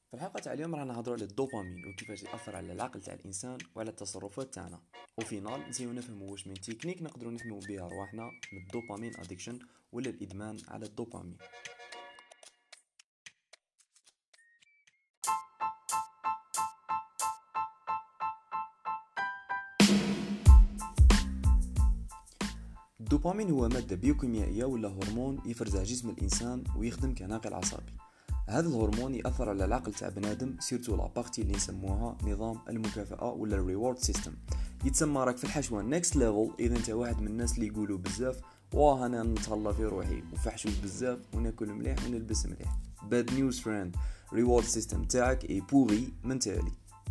في الحلقة تاع اليوم راح نهضروا على الدوبامين وكيفاش يأثر على العقل تاع الإنسان وعلى التصرفات تاعنا. وفينال نسيو نفهموا واش من تكنيك نقدروا نحميو بها رواحنا من الدوبامين ادكشن ولا الإدمان على الدوبامين. الدوبامين هو مادة بيوكيميائية ولا هرمون يفرزها جسم الإنسان ويخدم كناقل عصبي. هذا الهرمون يأثر على العقل تاع بنادم سيرتو لا بارتي اللي نسموها نظام المكافأة ولا الريورد سيستم. يتسمى راك في الحشوة نيكست ليفل اذا انت واحد من الناس اللي يقولوا بزاف واه انا نتهلا في روحي وفحشوش بزاف وناكل مليح ونلبس مليح. باد نيوز فريند، ريورد سيستم تاعك اي بوغي من تالي.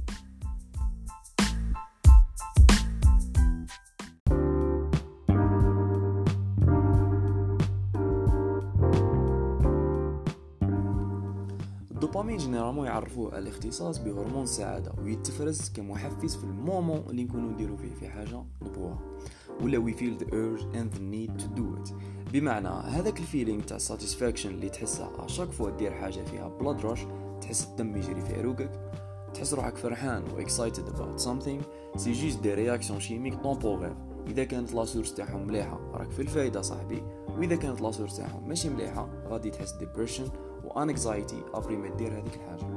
الدوبامين جينيرالمون يعرفوه على الاختصاص بهرمون السعاده ويتفرز كمحفز في المومون اللي نكونوا نديروا فيه في حاجه نبغوها ولا we feel the urge and the need to do it. بمعنى هذاك الفيلينغ تاع satisfaction اللي تحسها اشاك فوا دير حاجه فيها blood rush، تحس الدم يجري في عروقك، تحس روحك فرحان و excited about something. سي جوست دي رياكسيون شيميك طومبورير. اذا كانت لا سورس تاعهم مليحه راك في الفايده صاحبي، واذا كانت لا سورس تاعهم ماشي مليحه غادي تحس ديبريشن وانكزايتي ابري ما دير هذيك الحاجه.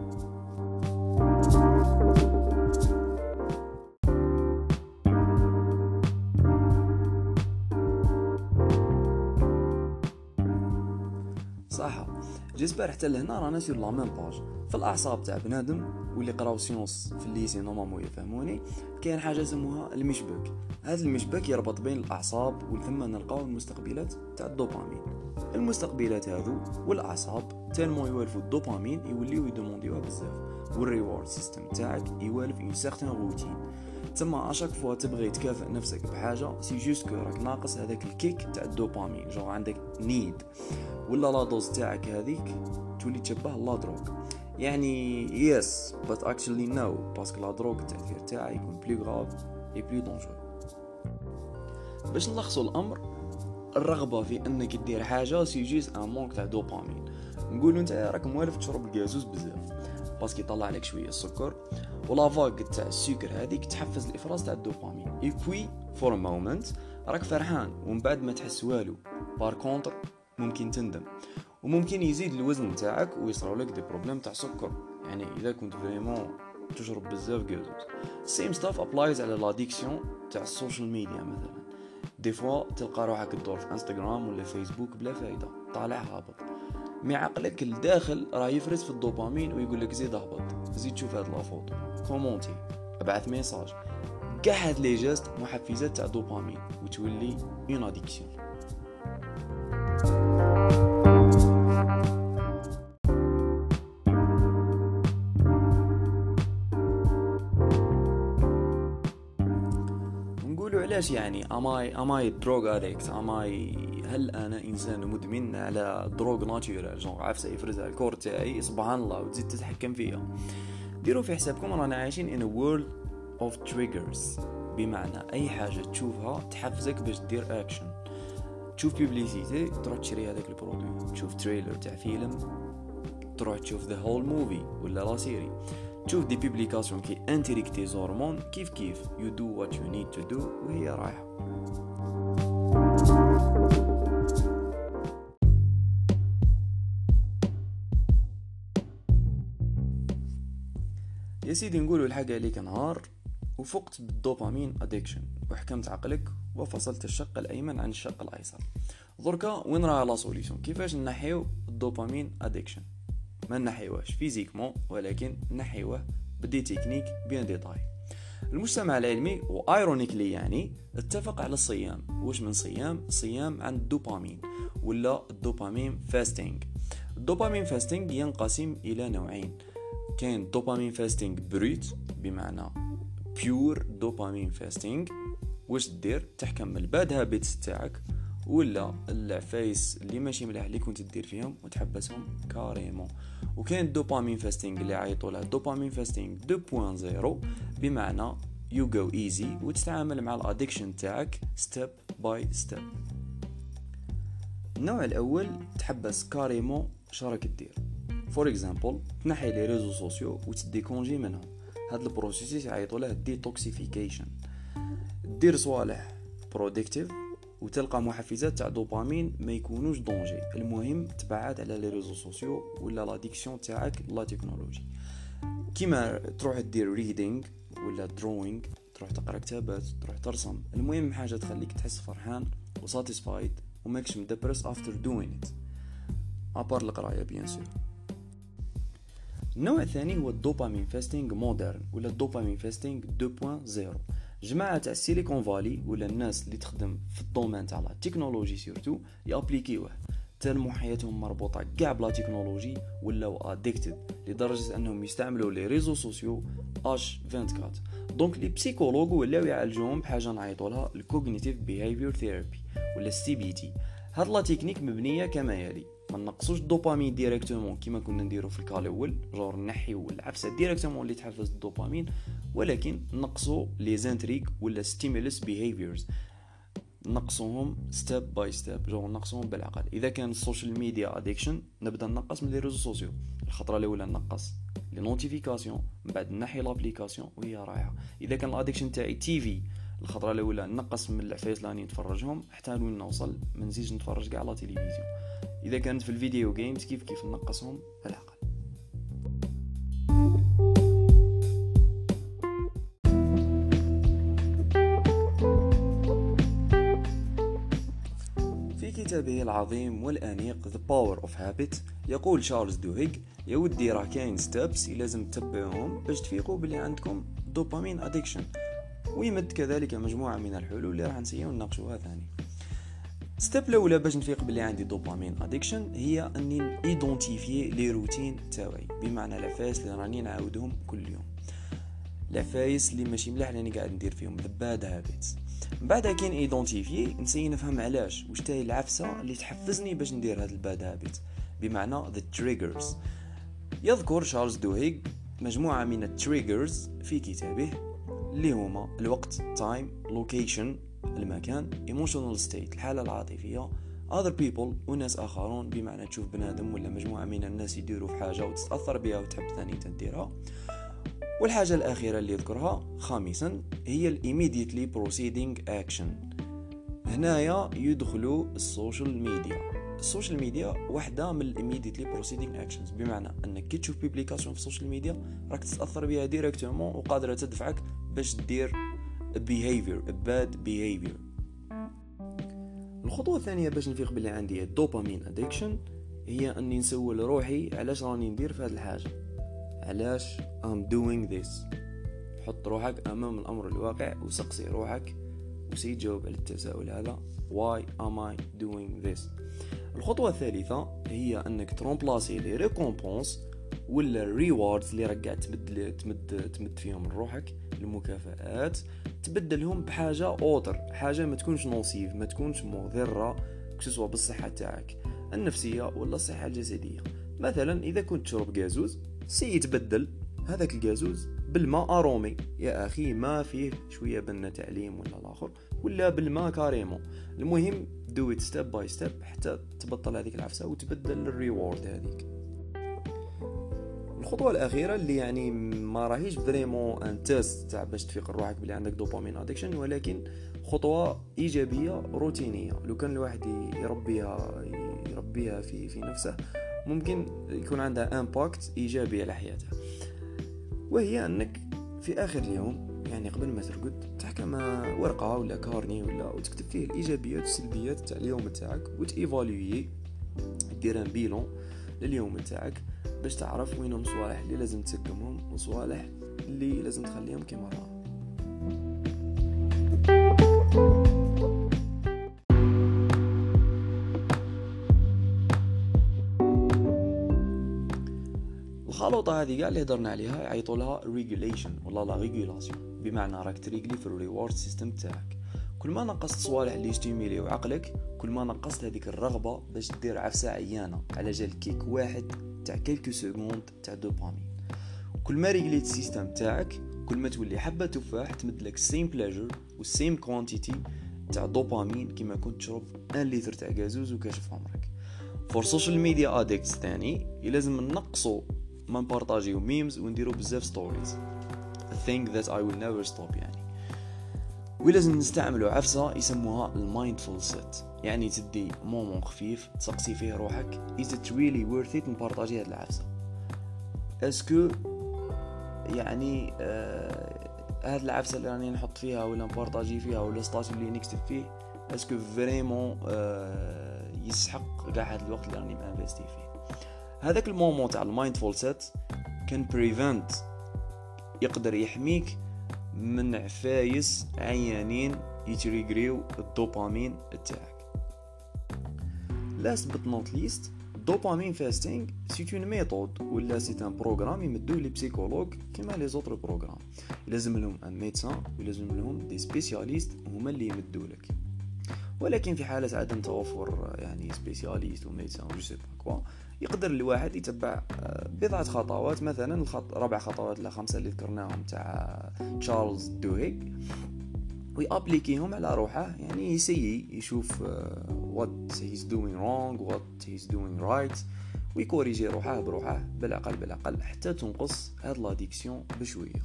صح، جيسبر حتى لهنا رانا سير لا ميم باج. في الاعصاب تاع بنادم واللي قراو سيونس في الليسي نورمالمون يفهموني، كاين حاجه يسموها المشبك. هذا المشبك يربط بين الاعصاب وثم نلقاو المستقبلات تاع الدوبامين. المستقبلات هذو والاعصاب تالمون يوالفوا الدوبامين يوليو يدومونديوها بزاف، والريورد سيستم تاعك يوالف اون سيغتان روتين. تما اشاك فوا تبغي تكافئ نفسك بحاجه سي جوست كو راك ناقص هذاك الكيك تاع الدوبامين، جو عندك نيد ولا لا دوز تاعك هذيك تولي تشبه لا دروغ. يعني يس but actually no، باسكو لا دروغ التاثير تاعها يكون بلو غراف اي بلو دونجور. باش نلخصوا الامر، الرغبه في انك دير حاجه سي جوست ان مونك تاع دوبامين. نقولوا انت راك موالف تشرب الغازوز بزاف باسكو يطلع لك شويه السكر، ولا فاغ تاع السكر هذيك تحفز الافراز تاع الدوبامين. اي بوي فور ا مومنت راك فرحان ومن بعد ما تحس والو. بار كونتر ممكن تندم وممكن يزيد الوزن تاعك ويصراو لك دي بروبليم تاع سكر، يعني اذا كنت فريمون تشرب بزاف غازوز. سيم ستاف ابلايز على لاديكسيون تاع السوشيال ميديا. مثلا دي فوا تلقى روحك تدور في انستغرام ولا فيسبوك بلا فايده، طالع هابط، مي عقلك الداخل راه يفرز في الدوبامين ويقول لك زيد اهبط، زيد شوف هاد لا فوتو، كومونتي، ابعث ميساج. كاع هاد لي جيست محفزات تاع دوبامين وتولي اون اديكسيون. نقولوا علاش يعني اماي دروغ اديكت، هل انا انسان مدمن على دروغ ناتشورال جون عفسه يفرزها الكور تاعي سبحان الله وتزيد تتحكم فيها. ديروا في حسابكم رانا عايشين in a world of triggers، بمعنى اي حاجه تشوفها تحفزك باش دير اكشن. تشوف بيبليسيتي تروح تشري هذاك البرودوي، تشوف تريلر تاع فيلم تروح تشوف ذا هول موفي ولا لا سيري، تشوف دي بيبليكاسيون كي انتريكتي زورمون كيف you do what you need to do وهي رايحة. يا سيدي نقولوا الحاجة عليك نهار وفقت بالدوبامين ادكشن وحكمت عقلك وفصلت الشق الايمن عن الشق الايسر. دركا وين راه لا سوليوشن؟ كيفاش نحيو الدوبامين ادكشن؟ ما نحيوهش فيزيكمون ولكن نحيوه بدي تكنيك بيان ديتاي. المجتمع العلمي وايرونيكلي يعني اتفق على الصيام. واش من صيام عن الدوبامين ولا الدوبامين فاستينج. الدوبامين فاستينج ينقسم الى نوعين، كاين دوبامين فاستينج بروت بمعنى بيور دوبامين فاستينج. واش دير؟ تحكم الباد هابيتس تاعك ولا العفايس اللي ماشي مليح اللي كنت تدير فيهم وتحبسهم كاريمون. وكاين الدوبامين فاستينج اللي عيطوا له دوبامين فاستينج 2.0 بمعنى you go easy وتتعامل مع الادكشن تاعك ستيب باي ستيب. النوع الاول تحبس كاريمون شراك تدير، فور اكزامبل تنحي لي ريزو سوسيو وتدي كونجي منهم. هاد البروسيس يعيطوا له ديتوكسيفيكيشن. دير صوالح برودكتيف وتلقى محفزات تاع دوبامين ما يكونوش دونجي. المهم تبعد على لي ريزو سوسيو ولا لاديكسيون تاعك لا تكنولوجي، كيما تروح دير ريدينغ ولا دروينغ، تروح تقرا كتابات، تروح ترسم. المهم حاجه تخليك تحس فرحان وساتيسفايد وماكش مدبرس افتر دوين ات، ابار القرايه بيان سور. النوع الثاني هو الدوبامين فاستينغ مودرن ولا الدوبامين فاستينغ 2.0. جماعه تاع السيليكون فالي ولا الناس اللي تخدم في الدومين تاع لا تكنولوجي سورتو يابليكيوه، تالمو حياتهم مربوطه كاع بلا تكنولوجي ولاو اديكتد لدرجه انهم يستعملوا لي ريزو سوسيو اش 24. دونك لي بسيكولوج ولاو يعالجوهم بحاجه نعيطوا لها الكوغنيتيف بيهيفير ثيرابي ولا السي بي تي. هاد لا تكنيك مبنيه كما يلي: ما نقصوش الدوبامين ديريكتومون كيما كنا نديرو في الكال الاول، جور نحيو العفسه ديريكتومون اللي تحفز الدوبامين، ولكن نقصوا لي زانتريك ولا ستيمولس بيهيفيرز، نقصوهم ستيب باي ستيب، جور نقصوهم بالعقل. اذا كان السوشيال ميديا اديكشن نبدا نقص من لي ريزو سوسيو، الخطره الاولى نقص لي نوتيفيكاسيون، من بعد نحي لابليكاسيون وهي رايحه. اذا كان الاديكشن تاعي تي في، الخطره الاولى نقص من العفايس اللي نتفرجهم حتى وين نوصل ما نزيدش نتفرج كاع على تلفزيون. اذا كانت في الفيديو جيمز كيف نقصهم بالعقل. في كتابه العظيم والأنيق The Power of Habit يقول شارلز دوهيغ: يا ودي راه كاين ستابس لازم تتبعوهم باش تفيقوا بلي عندكم دوبامين اديكشن، ويمد كذلك مجموعة من الحلول اللي راح نسيو نناقشوها ثاني. ستيب الاولى باش نفيق بلي عندي دوبامين اديكشن هي اني ايدونتيفيي لي روتين تاعي، بمعنى العفايس اللي راني نعاودهم كل يوم، العفايس اللي ماشي ملاح راني قاعد ندير فيهم the bad habits. من بعد كاين ايدونتيفيي نسي نفهم علاش واش تاهي العفسه اللي تحفزني باش ندير هاد الباد هابيت، بمعنى the triggers. يذكر شارلز دوهيغ مجموعه من التريجرز في كتابه اللي هما الوقت time location المكان emotional state الحاله العاطفيه other people وناس اخرون، بمعنى تشوف بنادم ولا مجموعه من الناس يديروا في حاجه وتتاثر بها وتحب ثاني تديرها. والحاجة الأخيرة اللي يذكرها خامسا هي ال immediately proceeding action. هنايا يدخلوا السوشيال ميديا. السوشيال ميديا واحدة من ال immediately proceeding actions، بمعنى أنك كي تشوف بيبليكاسيون في السوشيال ميديا راك تتأثر بها ديريكتومون وقادرة تدفعك باش تدير behavior bad behavior. الخطوة الثانية باش نفيق باللي عندي الدوبامين addiction هي أني نسول روحي علاش راني ندير في هذه الحاجة، علاش I'm doing this. حط روحك أمام الأمر الواقع وسقسي روحك وسي جاوب على التساؤل هذا why am I doing this. الخطوة الثالثة هي أنك ترومبلاسي لي ريكومبونس ولا الريواردز اللي راك قاعد تمد فيهم لروحك، المكافآت، تبدلهم بحاجة أوتر، حاجة ما تكونش نوسيف، ما تكونش مضرة كسوا بالصحة تاعك النفسية ولا الصحة الجسدية. مثلا إذا كنت تشرب غازوز سيتبدل هذاك الغازوز بالماء أرومي، يا أخي ما فيه شوية بنا تعليم ولا الآخر، ولا بالماء كاريمو. المهم do it step by step حتى تبطل هذيك العفسة وتبدل الريورد هذيك. الخطوة الأخيرة اللي يعني ما راهيش فريمون ان تيست تاع باش تفيق روحك بلي عندك دوبامين ادكشن، ولكن خطوة إيجابية روتينية. لو كان الواحد يربيها في نفسه ممكن يكون عندها امباكت إيجابي على حياته، وهي أنك في آخر اليوم يعني قبل ما ترقد تحكم ورقة ولا كارني وتكتب فيه الإيجابيات والسلبيات تاع اليوم تاعك وتيفالويي، دير ان بيلون لليوم تاعك باش تعرف وين الصوالح اللي لازم تسكمهم والصوالح اللي لازم تخليهم كما راهم. الخلطة هذه قاع اللي هضرنا عليها يعيطوا لها regulation ولا لا ريغولاسيون، بمعنى راك تريغلي في الريورد سيستم تاعك. كل ما نقصت صوالح اللي يستيميليو عقلك كل ما نقصت هذيك الرغبة باش دير عفسة عيانة على جال كيك واحد تاع كيلكو سكوند تاع دوبامين. كل ما ريغليت السيستم تاعك كل ما تولي حبة تفاح تمدلك سيم بلاجر والسيم كوانتيتي تاع دوبامين كيما كنت تشرب 1 لتر تاع غازوز وكاشف عمرك. فور سوشيال ميديا اديكتس ثاني لازم نقصوا ما نبارطاجيو ميمز ونديروا بزاف ستوريز a thing that I will never stop يعني. ولازم نستعملوا عفسة يسموها المايندفول سيت، يعني تدي مومون خفيف تسقسي فيه روحك is it really worth it نبارطاجي هاد العفسة، اسكو يعني هاد العفسة اللي راني نحط فيها ولا نبارطاجي فيها ولا ستاتي اللي نكتب فيه اسكو فريمون يسحق قاع هاد الوقت اللي راني مانفيستي فيه. هذاك المومون تاع المايندفول سيت كان بريفنت يقدر يحميك من عفايس عيانين يتريغريو الدوبامين تاعك. last but not least dopamine fasting c'est une méthode ولا c'est un programme يمدوه لي بسيكولوج كما لي زوتر بروغرام، لازم لهم ان ميدسان ولازم لهم دي سبيسياليست هما اللي يمدوا لك. ولكن في حالة عدم توفر يعني سبيسياليست وميدسان جو سي با كوا يقدر الواحد يتبع بضعة خطوات، مثلا 4 خطوات لا 5 اللي ذكرناهم تاع تشارلز دوهيغ ويابليكيهم على روحه، يعني يسيي يشوف what he's doing wrong what he's doing right ويكوريجي روحه بروحه بالعقل حتى تنقص هاد لاديكسيون بشويه.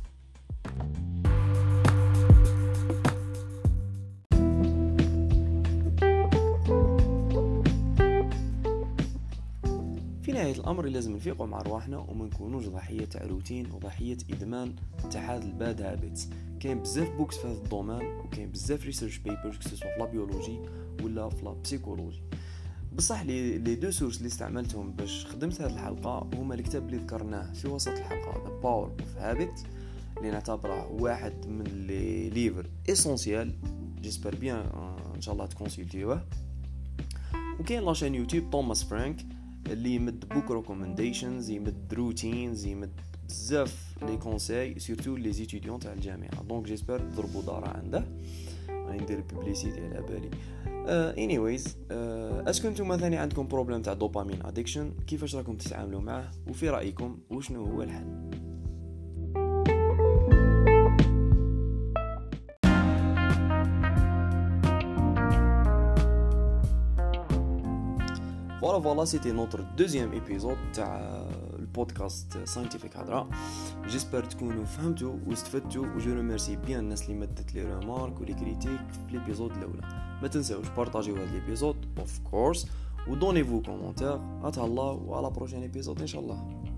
في نهاية الأمر لازم نفيقوا مع رواحنا وما نكونوش ضحية تاع روتين وضحية إدمان تاع هاد الباد هابيتس. كاين بزاف بوكس في هذا الدومين وكاين بزاف ريسيرش بيبرز كسوا في لا بيولوجي ولا في لا بسيكولوجي. بصح لي دو سورس اللي استعملتهم باش خدمت هذه الحلقة هما الكتاب اللي ذكرناه في وسط الحلقة The Power of Habit اللي نعتبره واحد من لي ليفر اسونسيال، جيسبر بيان ان شاء الله تكونسلتيوه. وكاين لاشين يوتيوب توماس فرانك اللي يمد بوك ريكومنديشنز، يمد روتينز، يمد بزاف لي كونساي سورتو لي ستوديون تاع الجامعه. دونك جيسبر تضربوا دارة عنده، راني ندير بوبليسيتي على بالي. انيويز اسكو نتوما ثاني عندكم بروبليم تاع دوبامين اديكشن؟ كيفاش راكم تتعاملوا معه؟ وفي رايكم وشنو هو الحل؟ Voilà, c'était notre deuxième épisode تاع البودكاست ساينتيفيك هضره. جيسبر تكونوا فهمتوا واستفدتوا وجو ريميرسي بيان الناس اللي مدت لي ريمارك ولي كريتيك في ليبيزود الاولى. ما تنساوش بارطاجيو هذا ليبيزود اوف كورس ودونيفو كومونتير. اتهلا وعلى بروشين ايبيزود ان شاء الله.